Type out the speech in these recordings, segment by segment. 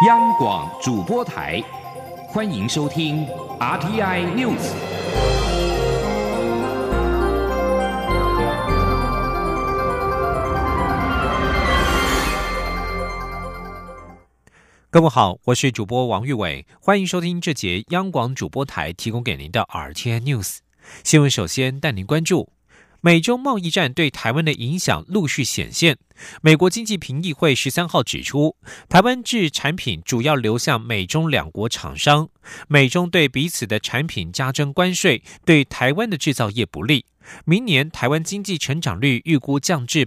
央广主播台，欢迎收听 RTI News。 各位好，我是主播王玉伟，欢迎收听这节央广主播台提供给您的 RTI News 新闻。首先带您关注美中贸易战对台湾的影响陆续显现。美国经济评议会13号指出，台湾制产品主要流向美中两国厂商，美中对彼此的产品加征关税，对台湾的制造业不利。明年台湾经济成长率预估降至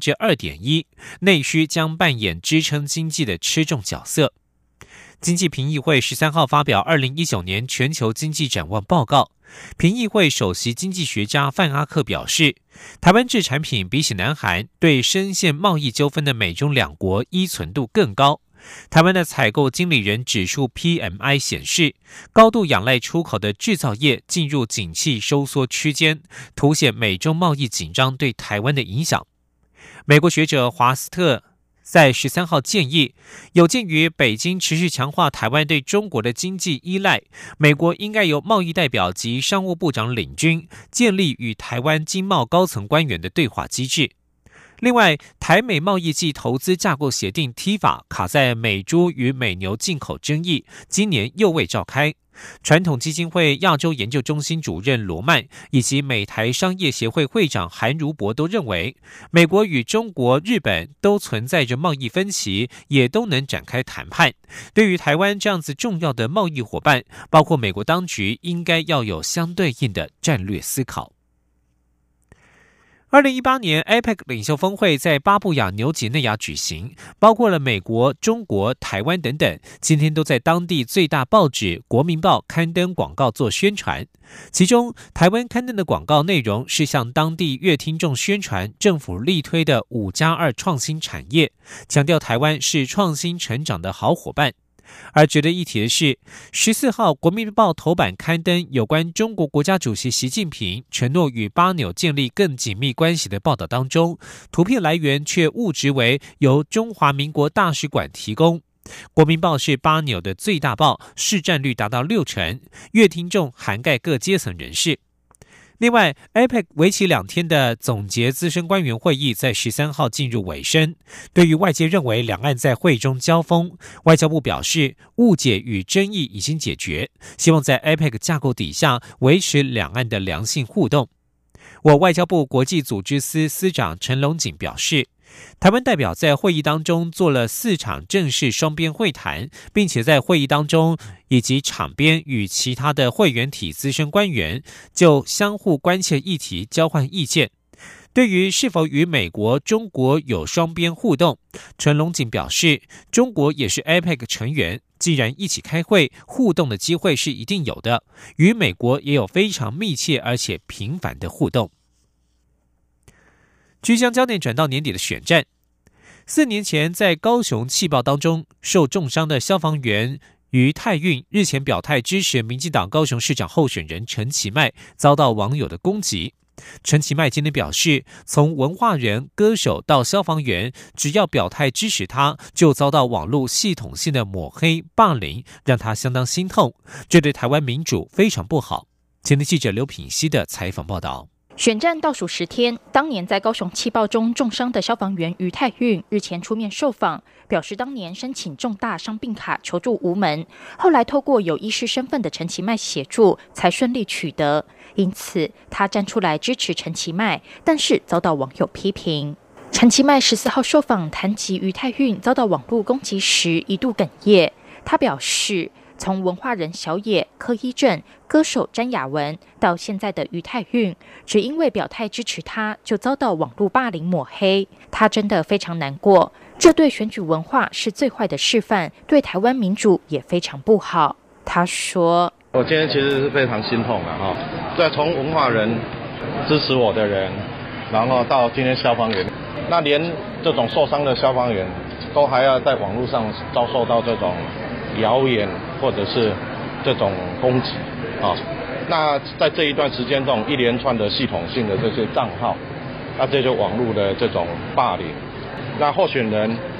2.1%， 内需将扮演支撑经济的吃重角色。经济评议会13号发表2019年全球经济展望报告，评议会首席经济学家范阿克表示，台湾制产品比起南韩，对深陷贸易纠纷的美中两国依存度更高。台湾的采购经理人指数 PMI 显示，高度仰赖出口的制造业进入景气收缩区间，凸显美中贸易紧张对台湾的影响。美国学者华斯特在13号建议，有鉴于北京持续强化台湾对中国的经济依赖，美国应该由贸易代表及商务部长领军，建立与台湾经贸高层官员的对话机制。另外，台美贸易暨投资架构协定 TIFA 卡在美猪与美牛进口争议，今年又未召开。传统基金会亚洲研究中心主任罗曼以及美台商业协会会长韩如博都认为，美国与中国、日本都存在着贸易分歧，也都能展开谈判。对于台湾这样子重要的贸易伙伴，包括美国当局应该要有相对应的战略思考。2018年 APEC 领袖峰会在巴布亚纽几内亚举行，包括了美国、中国、台湾等等，今天都在当地最大报纸《国民报》刊登广告做宣传。其中，台湾刊登的广告内容是向当地乐听众宣传政府力推的5+2创新产业，强调台湾是创新成长的好伙伴。而值得一提的是，14号《国民报》头版刊登有关中国国家主席习近平承诺与巴纽建立更紧密关系的报道当中，图片来源却误植为由中华民国大使馆提供。《国民报》是巴纽的最大报，市占率达到60%，阅听众涵盖各阶层人士。另外 APEC 为期2天的总结资深官员会议在13号进入尾声。对于外界认为两岸在会中交锋，外交部表示误解与争议已经解决，希望在 APEC 架构底下维持两岸的良性互动。我外交部国际组织司司长陈龙锦表示，台湾代表在会议当中做了4场正式双边会谈，并且在会议当中以及场边与其他的会员体资深官员就相互关切议题交换意见。对于是否与美国、中国有双边互动，陈龙锦表示，中国也是 APEC 成员，既然一起开会，互动的机会是一定有的，与美国也有非常密切而且频繁的互动。即将焦点转到年底的选战。4年前在高雄气爆当中受重伤的消防员于泰运日前表态支持民进党高雄市长候选人陈其迈，遭到网友的攻击。陈其迈今天表示，从文化人、歌手到消防员，只要表态支持他，就遭到网络系统性的抹黑霸凌，让他相当心痛，这对台湾民主非常不好。前天记者刘品希的采访报道。 选战倒数10天，当年在高雄气爆中重伤的消防员于泰运日前出面受访，表示当年申请重大伤病卡求助无门，后来透过有医师身份的陈其迈协助才顺利取得，因此他站出来支持陈其迈，但是遭到网友批评。陈其迈14号受访谈及于泰运遭到网络攻击时一度哽咽，他表示，从文化人小野、柯一正、歌手詹雅文到现在的于泰运，只因为表态支持他，就遭到网络霸凌抹黑，他真的非常难过。这对选举文化是最坏的示范，对台湾民主也非常不好。他说：“ 我今天其实是非常心痛的哈，在从文化人支持我的人，然后到今天消防员，那连这种受伤的消防员都还要在网络上遭受到这种谣言或者是这种攻击啊。那在这一段时间，这种一连串的系统性的这些账号，那这就网络的这种霸凌。那候选人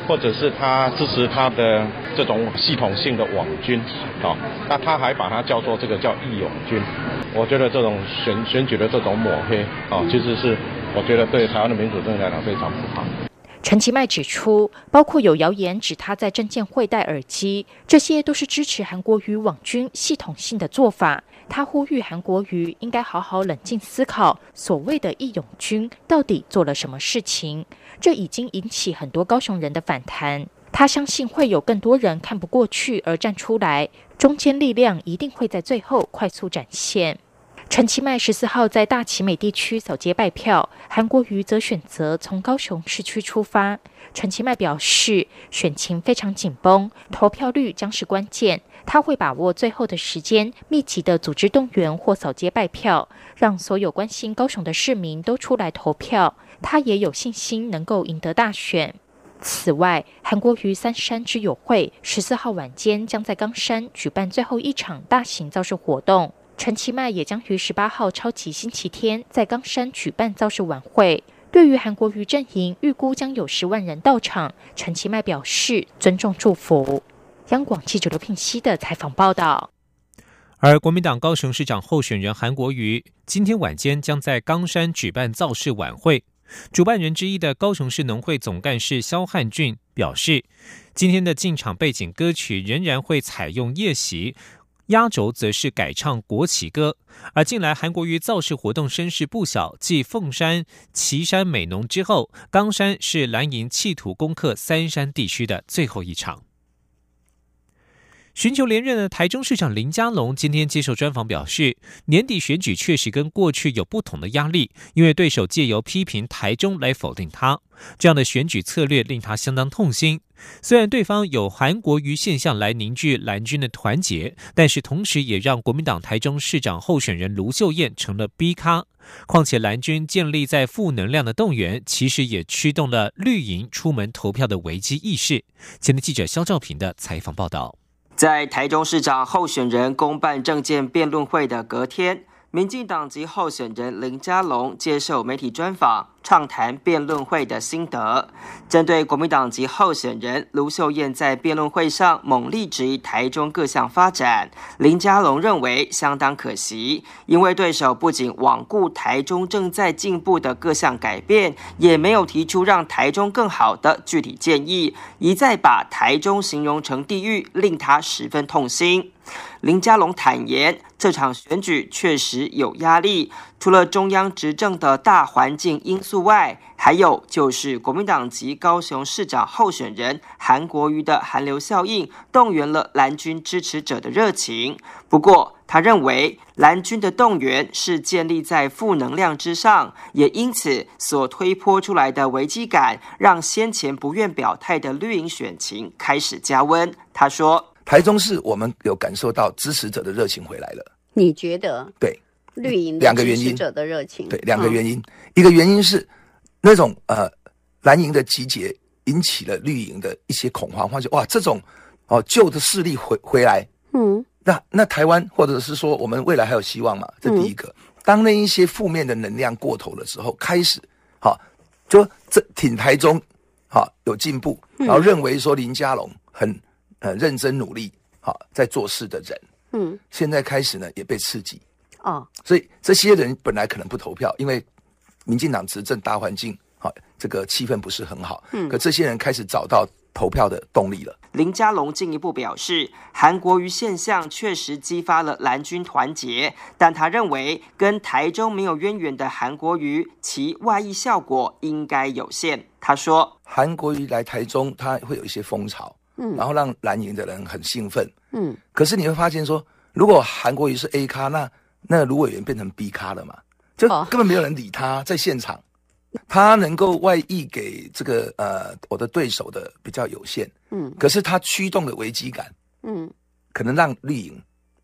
或者是他支持他的这种系统性的网军那他还把它叫做这个叫义勇军。我觉得这种选举的这种抹黑其实是我觉得对台湾的民主政治来讲非常不好。 陈其迈指出，包括有谣言指他在政见会戴耳机，这些都是支持韩国瑜网军系统性的做法。他呼吁韩国瑜应该好好冷静思考，所谓的义勇军到底做了什么事情，这已经引起很多高雄人的反弹。他相信会有更多人看不过去而站出来，中坚力量一定会在最后快速展现。陈其迈14号在大奇美地区扫街拜票，韩国瑜则选择从高雄市区出发。陈其迈表示，选情非常紧绷，投票率将是关键，他会把握最后的时间，密集的组织动员或扫街拜票，让所有关心高雄的市民都出来投票。他也有信心能够赢得大选。此外，韩国瑜三山之友会14号晚间将在冈山举办最后一场大型造势活动。陈其迈也将于18号超级星期天在冈山举办造势晚会。对于韩国瑜阵营预估将有10万人到场，陈其迈表示尊重祝福。央广记者刘聘熙的采访报道。 而国民党高雄市长候选人韩国瑜今天晚间将在冈山举办造势晚会。主办人之一的高雄市农会总干事萧汉俊表示，今天的进场背景歌曲仍然会采用夜袭，压轴则是改唱国旗歌。而近来韩国瑜造势活动声势不小，继凤山、旗山美浓之后，冈山是蓝营企图攻克三山地区的最后一场。寻求连任的台中市长林佳龙今天接受专访表示，年底选举确实跟过去有不同的压力，因为对手借由批评台中来否定他，这样的选举策略令他相当痛心。虽然对方有韩国瑜现象来凝聚蓝军的团结，但是同时也让国民党台中市长候选人卢秀燕成了 B 咖。况且蓝军建立在负能量的动员，其实也驱动了绿营出门投票的危机意识。前的记者肖兆平的采访报道。 在台中市长候选人公办政见辩论会的隔天，民进党籍候选人林佳龙接受媒体专访，畅谈辩论会的心得。针对国民党籍候选人卢秀燕在辩论会上猛力质疑台中各项发展，林佳龙认为相当可惜，因为对手不仅罔顾台中正在进步的各项改变，也没有提出让台中更好的具体建议，一再把台中形容成地狱，令他十分痛心。林佳龙坦言，这场选举确实有压力，除了中央执政的大环境因素外，还有就是国民党籍高雄市长候选人韩国瑜的韩流效应，动员了蓝军支持者的热情。不过，他认为蓝军的动员是建立在负能量之上，也因此所推波出来的危机感，让先前不愿表态的绿营选情开始加温。他说， 台中市我们有感受到支持者的热情回来了。 你觉得？ 对， 绿营的支持者的热情。 对，两个原因，一个原因是那种蓝营的集结引起了绿营的一些恐慌，或者哇这种旧的势力回来，那台湾或者是说我们未来还有希望嘛？这第一个。当那一些负面的能量过头的时候，开始就这挺台中有进步，然后认为说林佳龙很认真努力在做事的人，现在开始呢也被刺激所以这些人本来可能不投票，因为民进党执政大环境这个气氛不是很好，可这些人开始找到投票的动力了。 林佳龙进一步表示，韩国瑜现象确实激发了蓝军团结，但他认为跟台中没有渊源的韩国瑜，其外溢效果应该有限。他说， 韩国瑜来台中，他会有一些风潮，然后让蓝营的人很兴奋，可是你会发现说，如果韩国瑜是 A 咖，那卢委员变成 B 咖了嘛，就根本没有人理他，在现场。他能够外溢给这个我的对手的比较有限，可是他驱动的危机感，可能让绿营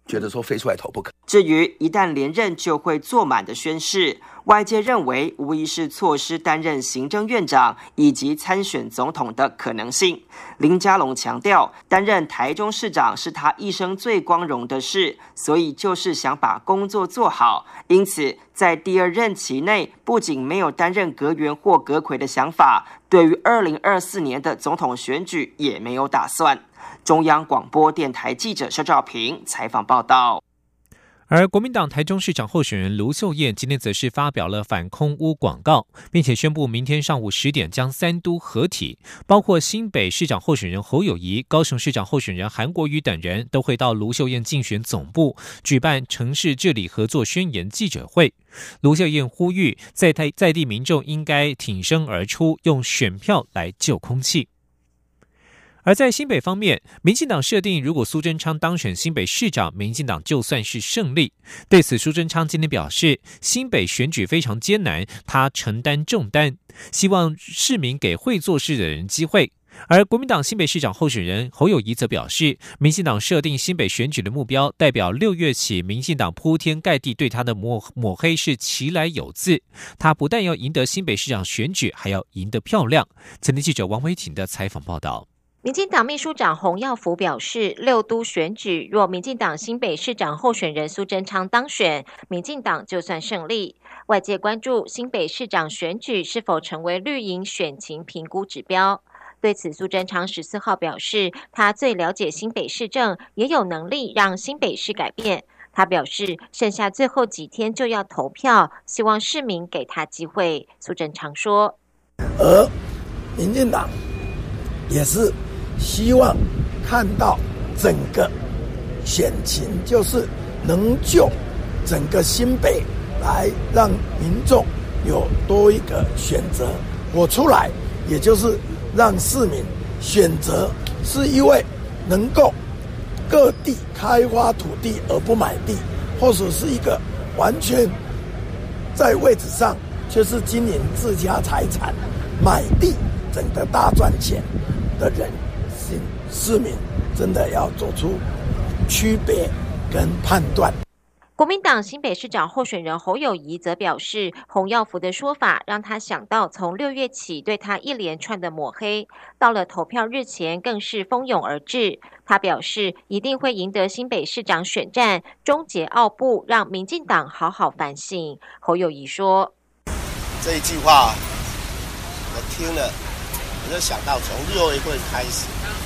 觉得说非出来投不可。 至于一旦连任就会坐满的宣示，外界认为无疑是错失担任行政院长以及参选总统的可能性。林佳龙强调，担任台中市长是他一生最光荣的事，所以就是想把工作做好。因此，在第二任期内，不仅没有担任阁员或阁揆的想法，对于2024年的总统选举也没有打算。中央广播电台记者肖兆平采访报道。 而国民党台中市长候选人卢秀燕今天则是发表了反空污广告，并且宣布明天上午10点将三都合体，包括新北市长候选人侯友宜、高雄市长候选人韩国瑜等人都会到卢秀燕竞选总部举办城市治理合作宣言记者会。卢秀燕呼吁在地民众应该挺身而出，用选票来救空气。而在新北方面，民进党设定如果苏贞昌当选新北市长，民进党就算是胜利。对此，苏贞昌今天表示，新北选举非常艰难，他承担重担，希望市民给会做事的人机会。而国民党新北市长候选人侯友宜则表示，民进党设定新北选举的目标，代表6月起民进党铺天盖地对他的抹黑是其来有自。他不但要赢得新北市长选举，还要赢得漂亮。前天记者王维婷的采访报道。 民进党秘书长洪耀福表示，6都选举若民进党新北市长候选人苏贞昌当选，民进党就算胜利。外界关注新北市长选举是否成为绿营选情评估指标。对此，苏贞昌14号表示，他最了解新北市政，也有能力让新北市改变。他表示，剩下最后几天就要投票，希望市民给他机会。苏贞昌说， 而民进党也是希望看到整个选情，就是能就整个新北来让民众有多一个选择。我出来，也就是让市民选择是一位能够各地开发土地而不买地，或者是一个完全在位置上却是经营自家财产、买地整个大赚钱的人。市民真的要做出区别跟判断。 国民党新北市长候选人侯友宜则表示，洪耀福的说法让他想到从6月起对他一连串的抹黑，到了投票日前更是蜂拥而至。他表示一定会赢得新北市长选战，终结傲步，让民进党好好反省。侯友宜说， 这一句话我听了，我就想到从6月份开始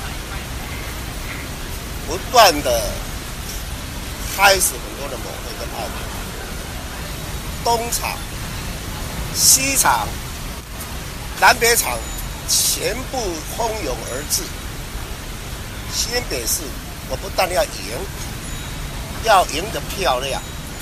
不断的开始很多的抹黑跟傲慢，东厂、西厂、南北厂全部蜂拥而至。新北市我不但要赢，要赢得漂亮，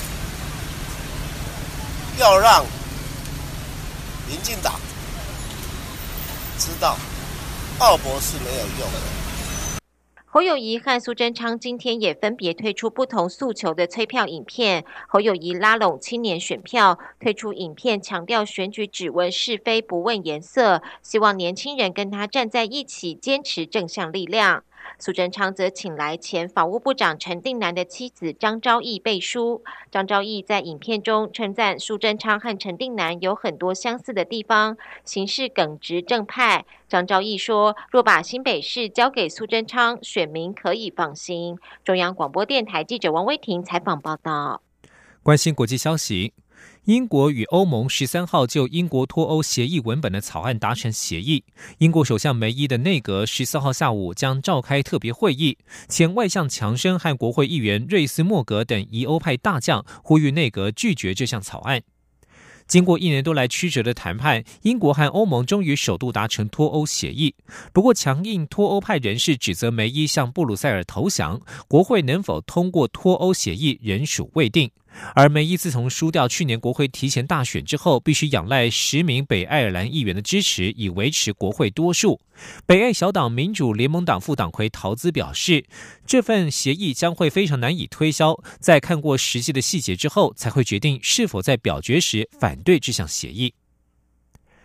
要让民进党知道奥博是没有用的。 侯友宜和苏贞昌今天也分别推出不同诉求的催票影片。侯友宜拉拢青年选票，推出影片强调选举只问是非不问颜色，希望年轻人跟他站在一起，坚持正向力量。苏贞昌则请来前法务部长陈定南的妻子张昭义背书。张昭义在影片中称赞苏贞昌和陈定南有很多相似的地方，行事耿直正派。张昭义说，若把新北市交给苏贞昌，选民可以放心。中央广播电台记者王威婷采访报道。 关心国际消息，英国与欧盟13号就英国脱欧协议文本的草案达成协议。英国首相梅伊的内阁14号下午将召开特别会议，前外相强生和国会议员瑞斯莫格等疑欧派大将呼吁内阁拒绝这项草案。经过1年多来曲折的谈判，英国和欧盟终于首度达成脱欧协议。不过，强硬脱欧派人士指责梅伊向布鲁塞尔投降，国会能否通过脱欧协议仍属未定。而梅伊自从输掉去年国会提前大选之后，必须仰赖10名北爱尔兰议员的支持以维持国会多数。北爱小党民主联盟党副党魁陶兹表示，这份协议将会非常难以推销，在看过实际的细节之后，才会决定是否在表决时反对这项协议。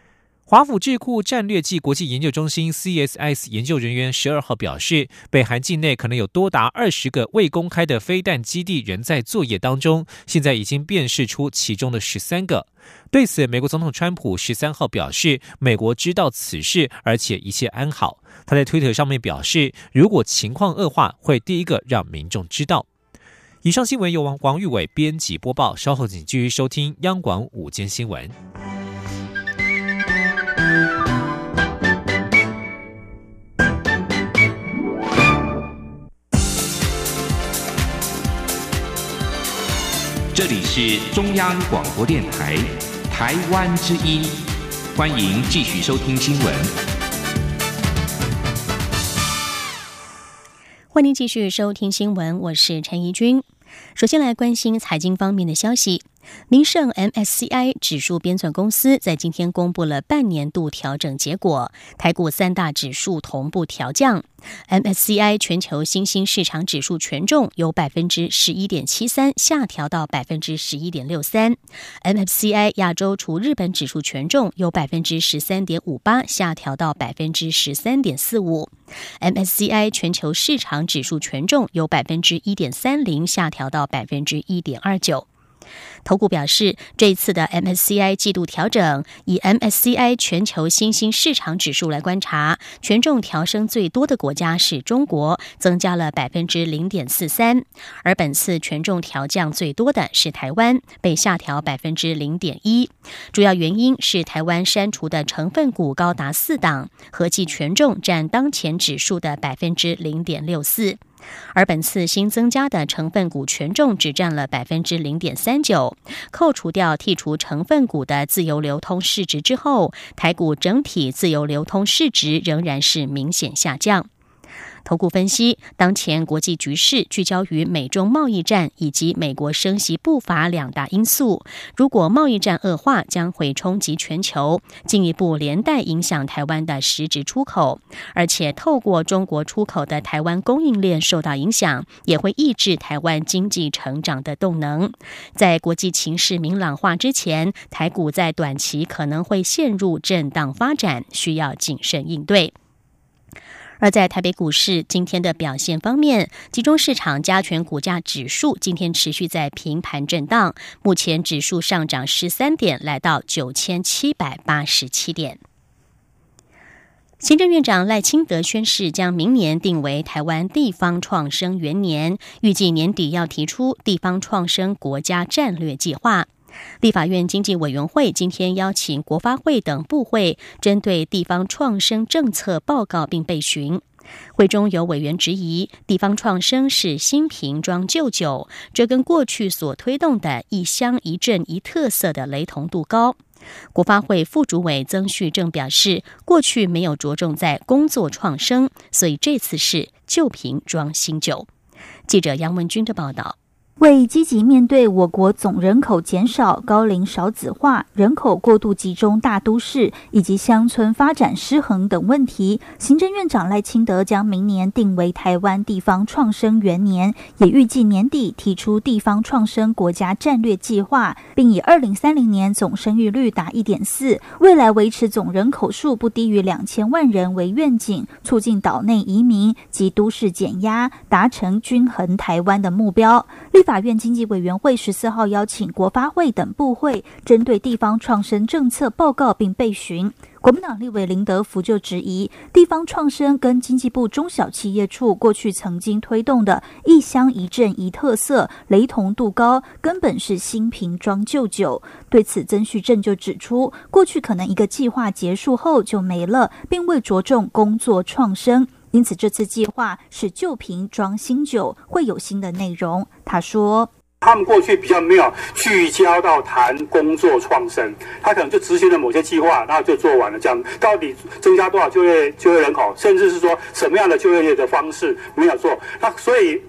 华府智库战略暨国际研究中心 CSIS 研究人员12号表示，北韩境内可能有多达20个未公开的飞弹基地仍在作业当中，现在已经辨识出其中的13个。对此，美国总统川普13号表示，美国知道此事，而且一切安好。他在推特上面表示，如果情况恶化，会第一个让民众知道。以上新闻由王玉伟编辑播报，稍后请继续收听央广午间新闻。 这里是中央广播电台台湾之音，欢迎继续收听新闻。 欢迎继续收听新闻，我是陈怡君。首先来关心财经方面的消息。民盛 MSCI 指数编纂公司在今天公布了半年度调整结果，台股3大指数同步调降。MSCI 全球新兴市场指数权重由 11.73% 下调到 11.63%， MSCI 亚洲除日本指数权重由 13.58% 下调到 13.45%， MSCI 全球市场指数权重由 1.30% 下调到 1.29%。投顾表示，这一次的 MSCI 季度调整，以 MSCI 全球新兴市场指数来观察，权重调升最多的国家是中国，增加了 0.43%， 而本次权重调降最多的是台湾，被下调 0.1%。 主要原因是台湾删除的成分股高达4档，合计权重占当前指数的 0.64%。而本次新增加的成分股权重只占了 0.39%， 扣除掉剔除成分股的自由流通市值之后，台股整体自由流通市值仍然是明显下降。投顾分析，当前国际局势聚焦于美中贸易战以及美国升息步伐2大因素。如果贸易战恶化，将会冲击全球，进一步连带影响台湾的实质出口。而且透过中国出口的台湾供应链受到影响，也会抑制台湾经济成长的动能。在国际情势明朗化之前，台股在短期可能会陷入震荡发展，需要谨慎应对。而在台北股市今天的表现方面，集中市场加权股价指数今天持续在平盘震荡，目前指数上涨13点，来到9787点。行政院长赖清德宣示，将明年定为台湾地方创生元年，预计年底要提出地方创生国家战略计划。立法院经济委员会今天邀请国发会等部会针对地方创生政策报告并备询。会中有委员质疑，地方创生是新瓶装旧酒，这跟过去所推动的一乡一镇一特色的雷同度高。国发会副主委曾旭正表示，过去没有着重在工作创生，所以这次是旧瓶装新酒。记者杨文君的报道。 为积极面对我国总人口减少、高龄少子化、人口过度集中大都市以及乡村发展失衡等问题，行政院长赖清德将明年定为台湾地方创生元年，也预计年底提出地方创生国家战略计划，并以2030年总生育率达 1.4， 未来维持总人口数不低于2000万人为愿景，促进岛内移民及都市减压，达成均衡台湾的目标。立法院经济委员会14号邀请国发会等部会针对地方创生政策报告并备询。国民党立委林德福就质疑，地方创生跟经济部中小企业处过去曾经推动的一乡一镇一特色雷同度高，根本是新瓶装旧酒。对此，曾旭正就指出，过去可能一个计划结束后就没了，并未着重工作创生，因此这次计划是旧瓶装新酒，会有新的内容。他说， 他们过去比较没有聚焦到谈工作创生，他可能就执行了某些计划，然后就做完了，这样到底增加多少就业人口，甚至是说什么样的就业的方式没有做，那所以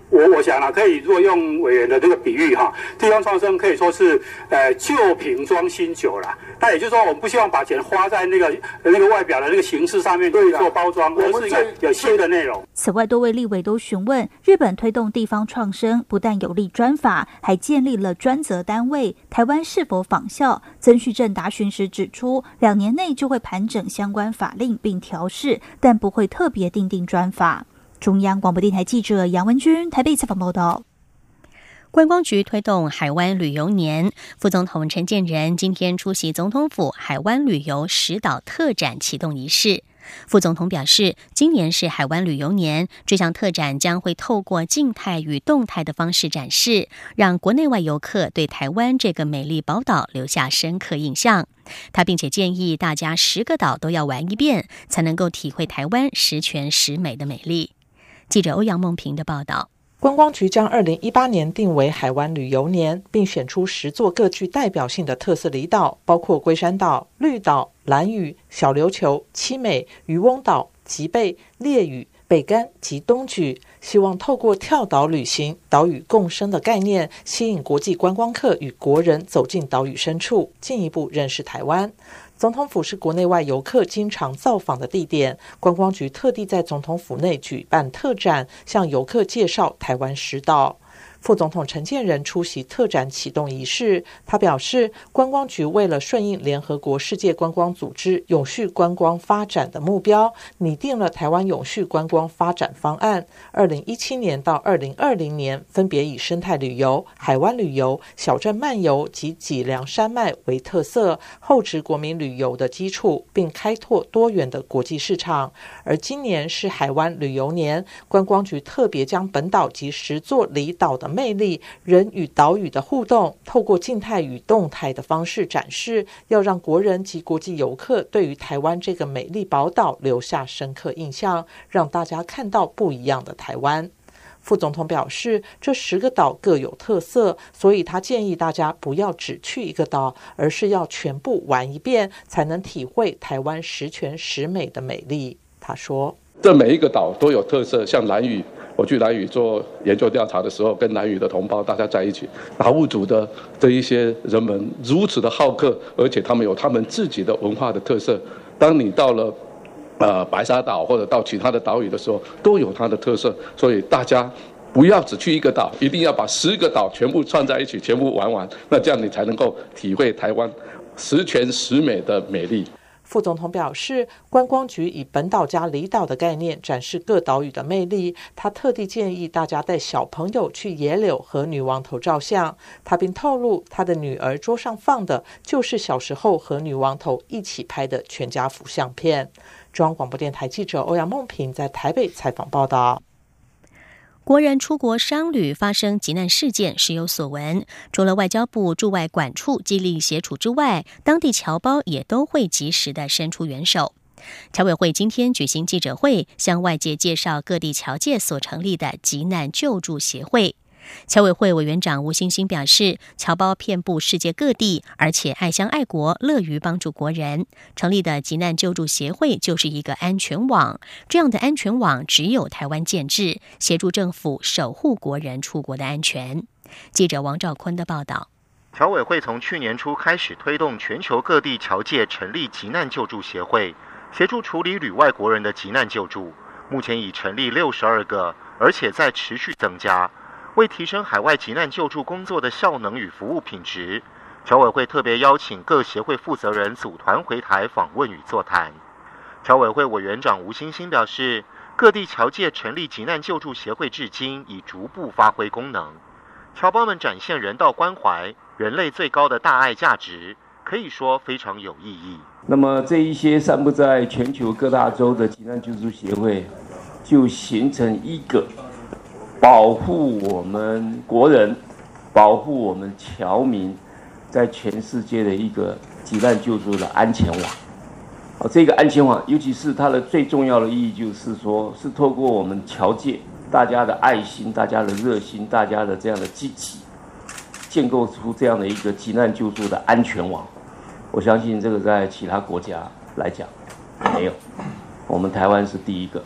我想啊，可以如果用委员的这个比喻哈，地方创生可以说是旧瓶装新酒啦。那也就是说，我们不希望把钱花在那个外表的那个形式上面去做包装，而是一个有新的内容。 此外，多位立委都询问，日本推动地方创生，不但有立专法，还建立了专责单位，台湾是否仿效？曾旭正答询时指出，2年内就会盘整相关法令并调试，但不会特别订定专法。中央广播电台记者杨文君台北采访报道。 观光局推动海湾旅游年，副总统陈建仁今天出席总统府海湾旅游10岛特展启动仪式。副总统表示，今年是海湾旅游年，这项特展将会透过静态与动态的方式展示，让国内外游客对台湾这个美丽宝岛留下深刻印象。他并且建议大家10个岛都要玩一遍，才能够体会台湾十全十美的美丽。记者欧阳梦平的报道。 观光局将2018年定为海湾旅游年，并选出10座各具代表性的特色离岛，包括龟山岛、绿岛、兰屿、小琉球、七美、渔翁岛、吉贝、烈屿、北竿及东莒，希望透过跳岛旅行、岛屿共生的概念，吸引国际观光客与国人走进岛屿深处，进一步认识台湾。总统府是国内外游客经常造访的地点，观光局特地在总统府内举办特展，向游客介绍台湾10岛。副总统陈建仁出席特展启动仪式，他表示，观光局为了顺应联合国世界观光组织永续观光发展的目标，拟定了台湾永续观光发展方案，2017年到2020年分别以生态旅游、海湾旅游、小镇漫游及脊梁山脉为特色，厚植国民旅游的基础，并开拓多元的国际市场。而今年是海湾旅游年，观光局特别将本岛及10座离岛的魅力、人与岛屿的互动，透过静态与动态的方式展示，要让国人及国际游客对于台湾这个美丽宝岛留下深刻印象，让大家看到不一样的台湾。副总统表示，这10个岛各有特色，所以他建议大家不要只去一个岛，而是要全部玩一遍，才能体会台湾十全十美的美丽。他说， 这每一个岛都有特色，像兰屿，我去兰屿做研究调查的时候，跟兰屿的同胞大家在一起，达悟族的这一些人们如此的好客，而且他们有他们自己的文化的特色。当你到了白沙岛或者到其他的岛屿的时候，都有它的特色，所以大家不要只去一个岛，一定要把10个岛全部串在一起，全部玩完，那这样你才能够体会台湾十全十美的美丽。 副总统表示，观光局以本岛加离岛的概念展示各岛屿的魅力。他特地建议大家带小朋友去野柳和女王头照相。他并透露，他的女儿桌上放的就是小时候和女王头一起拍的全家福相片。中央广播电台记者欧阳梦平在台北采访报道。 国人出国商旅发生急难事件，时有所闻。除了外交部驻外管处极力协助之外，当地侨胞也都会及时的伸出援手。侨委会今天举行记者会，向外界介绍各地侨界所成立的急难救助协会。侨委会委员长吴欣欣表示，侨胞遍布世界各地，而且爱乡爱国，乐于帮助国人。成立的急难救助协会就是一个安全网，这样的安全网只有台湾建制，协助政府守护国人出国的安全。记者王兆坤的报道。 侨委会从去年初开始推动全球各地侨界成立急难救助协会，协助处理旅外国人的急难救助。目前已成立62个，而且在持续增加。为提升海外急难救助工作的效能与服务品质，侨委会特别邀请各协会负责人组团回台访问与座谈。侨委会委员长吴欣欣表示，各地侨界成立急难救助协会至今已逐步发挥功能，侨胞们展现人道关怀、人类最高的大爱价值，可以说非常有意义。 那么这一些散布在全球各大洲的急难救助协会，就形成一个保护我们国人、保护我们侨民在全世界的一个急难救助的安全网。这个安全网，尤其是它的最重要的意义，就是说，是透过我们侨界大家的爱心、大家的热心、大家的这样的积极，建构出这样的一个急难救助的安全网。我相信这个在其他国家来讲没有，我们台湾是第一个。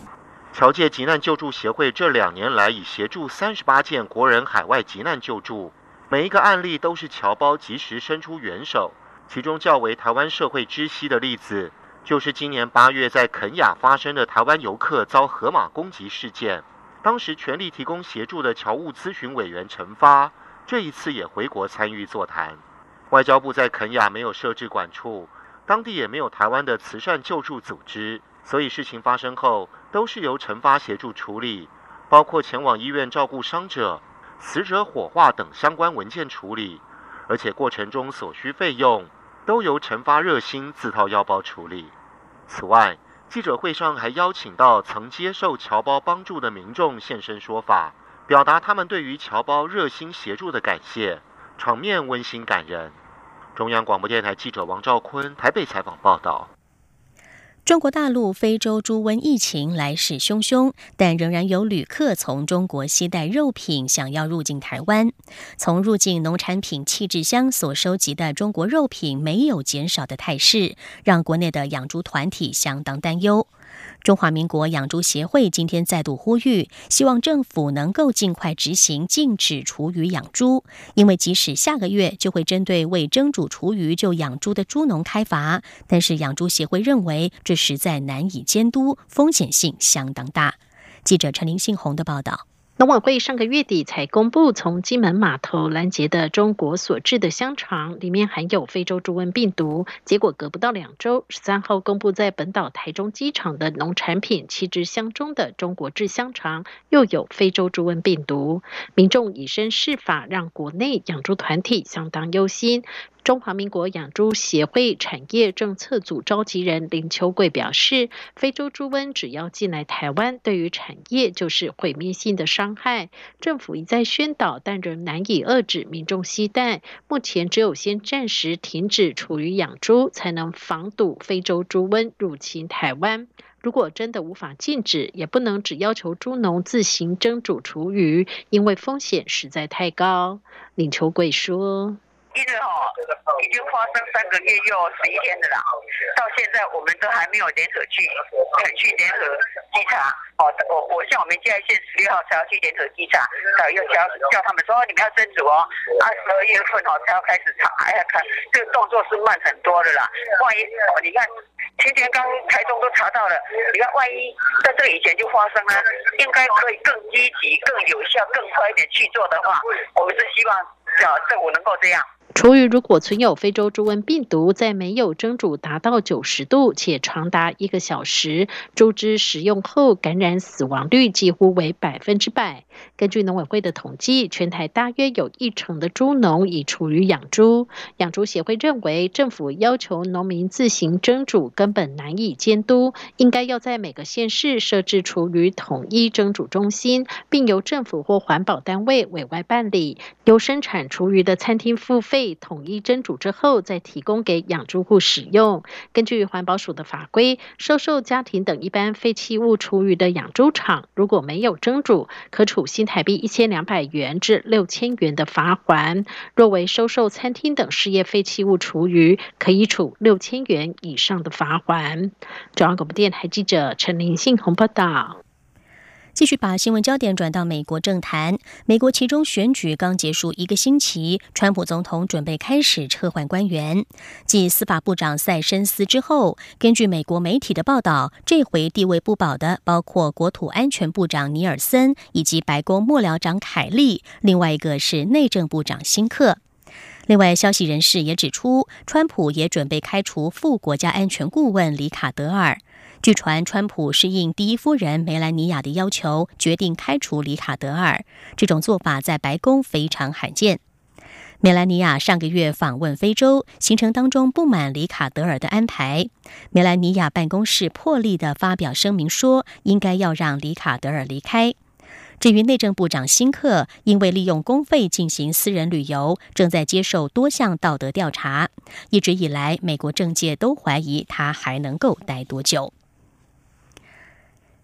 侨界急难救助协会这2年来已协助38件国人海外急难救助，每一个案例都是侨胞及时伸出援手。其中较为台湾社会知悉的例子，就是今年8月在肯亚发生的台湾游客遭河马攻击事件。当时全力提供协助的侨务咨询委员陈发，这一次也回国参与座谈。外交部在肯亚没有设置管处，当地也没有台湾的慈善救助组织，所以事情发生后都是由陈发协助处理，包括前往医院照顾伤者、死者火化等相关文件处理，而且过程中所需费用都由陈发热心自掏腰包处理。此外，记者会上还邀请到曾接受侨胞帮助的民众现身说法，表达他们对于侨胞热心协助的感谢，场面温馨感人。中央广播电台记者王兆坤台北采访报道。 中国大陆非洲猪瘟疫情来势汹汹，但仍然有旅客从中国携带肉品想要入境台湾。从入境农产品弃置箱所收集的中国肉品没有减少的态势，让国内的养猪团体相当担忧。中华民国养猪协会今天再度呼吁，希望政府能够尽快执行禁止厨余养猪，因为即使下个月就会针对未蒸煮厨余就养猪的猪农开罚，但是养猪协会认为这实在难以监督，风险性相当大。记者陈林信宏的报道。 农委会上个月底才公布，从金门码头拦截的中国所制的香肠里面含有非洲猪瘟病毒，结果隔不到2周，13号公布在本岛台中机场的农产品弃置箱中的中国制香肠又有非洲猪瘟病毒，民众以身试法，让国内养猪团体相当忧心。中华民国养猪协会产业政策组召集人林秋贵表示，非洲猪瘟只要进来台湾，对于产业就是毁灭性的伤害。政府一再宣导，但仍难以遏制民众携带。目前只有先暂时停止厨余养猪，才能防堵非洲猪瘟入侵台湾。如果真的无法禁止，也不能只要求猪农自行蒸煮厨余，因为风险实在太高。林秋贵说， 因为已经发生3个月又11天了啦，到现在我们都还没有联合去联合稽查。我像我们嘉义县16号才要去联合稽查，又叫他们说你们要蒸煮12月份才要开始查。看这个动作是慢很多的啦。万一你看前天刚台中都查到了，你看万一在这个以前就发生了，应该可以更积极、更有效、更快一点去做的话，我们是希望政府能够这样。 厨余如果存有非洲猪瘟病毒，在没有蒸煮达到90度且长达1个小时，猪只食用后感染死亡率几乎为100%。根据农委会的统计，全台大约有1成的猪农以厨余养猪。养猪协会认为，政府要求农民自行蒸煮根本难以监督，应该要在每个县市设置厨余统一蒸煮中心，并由政府或环保单位委外办理，由生产厨余的餐厅付费统一蒸煮之后再提供给养猪户使用。根据环保署的法规，收受家庭等一般废弃物厨余的养猪场，如果没有蒸煮，可处新台币1200元至6000元的罚锾；若为收受餐厅等事业废弃物厨余，可以处6000元以上的罚锾。中央广播电台记者陈林信宏报道。 继续把新闻焦点转到美国政坛。美国期中选举刚结束1个星期，川普总统准备开始撤换官员。继司法部长塞申斯之后，根据美国媒体的报道，这回地位不保的包括国土安全部长尼尔森以及白宫幕僚长凯利，另外一个是内政部长辛克。另外，消息人士也指出，川普也准备开除副国家安全顾问里卡德尔。据传，川普是应第一夫人梅兰妮亚的要求，决定开除里卡德尔。这种做法在白宫非常罕见。梅兰妮亚上个月访问非洲，行程当中不满里卡德尔的安排。梅兰妮亚办公室破例地发表声明说，应该要让里卡德尔离开。至于内政部长辛克，因为利用公费进行私人旅游，正在接受多项道德调查。一直以来，美国政界都怀疑他还能够待多久。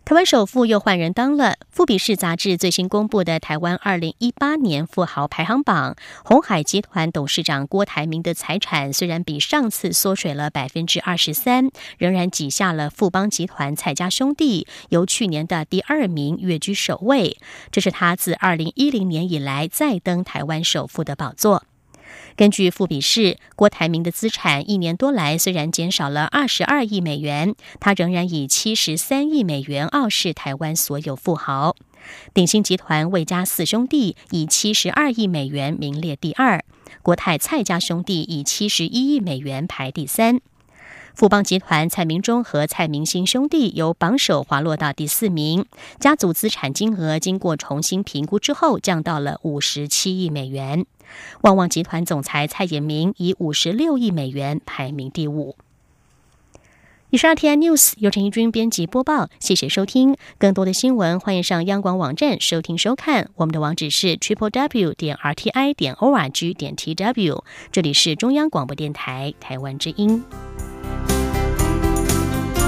台湾首富又换人当了。富比士杂志最新公布的台湾2018年富豪排行榜，鸿海集团董事长郭台铭的财产虽然比上次缩水了23%，仍然挤下了富邦集团蔡家兄弟，由去年的第2名跃居首位。这是他自2010年以来再登台湾首富的宝座。根据富比士，郭台铭的资产1年多来虽然减少了22亿美元，他仍然以73亿美元傲视台湾所有富豪。鼎新集团魏家4兄弟以72亿美元名列第2，国泰蔡家兄弟以71亿美元排第3。富邦集团蔡明忠和蔡明兴兄弟由榜首滑落到第4名，家族资产金额经过重新评估之后降到了57亿美元。旺旺集团总裁蔡衍明以56亿美元排名第5。以上 RTI News 由陈怡君编辑播报，谢谢收听。更多的新闻欢迎上央广网站收听收看，我们的网址是 www.rti.org.tw。这里是中央广播电台台湾之音。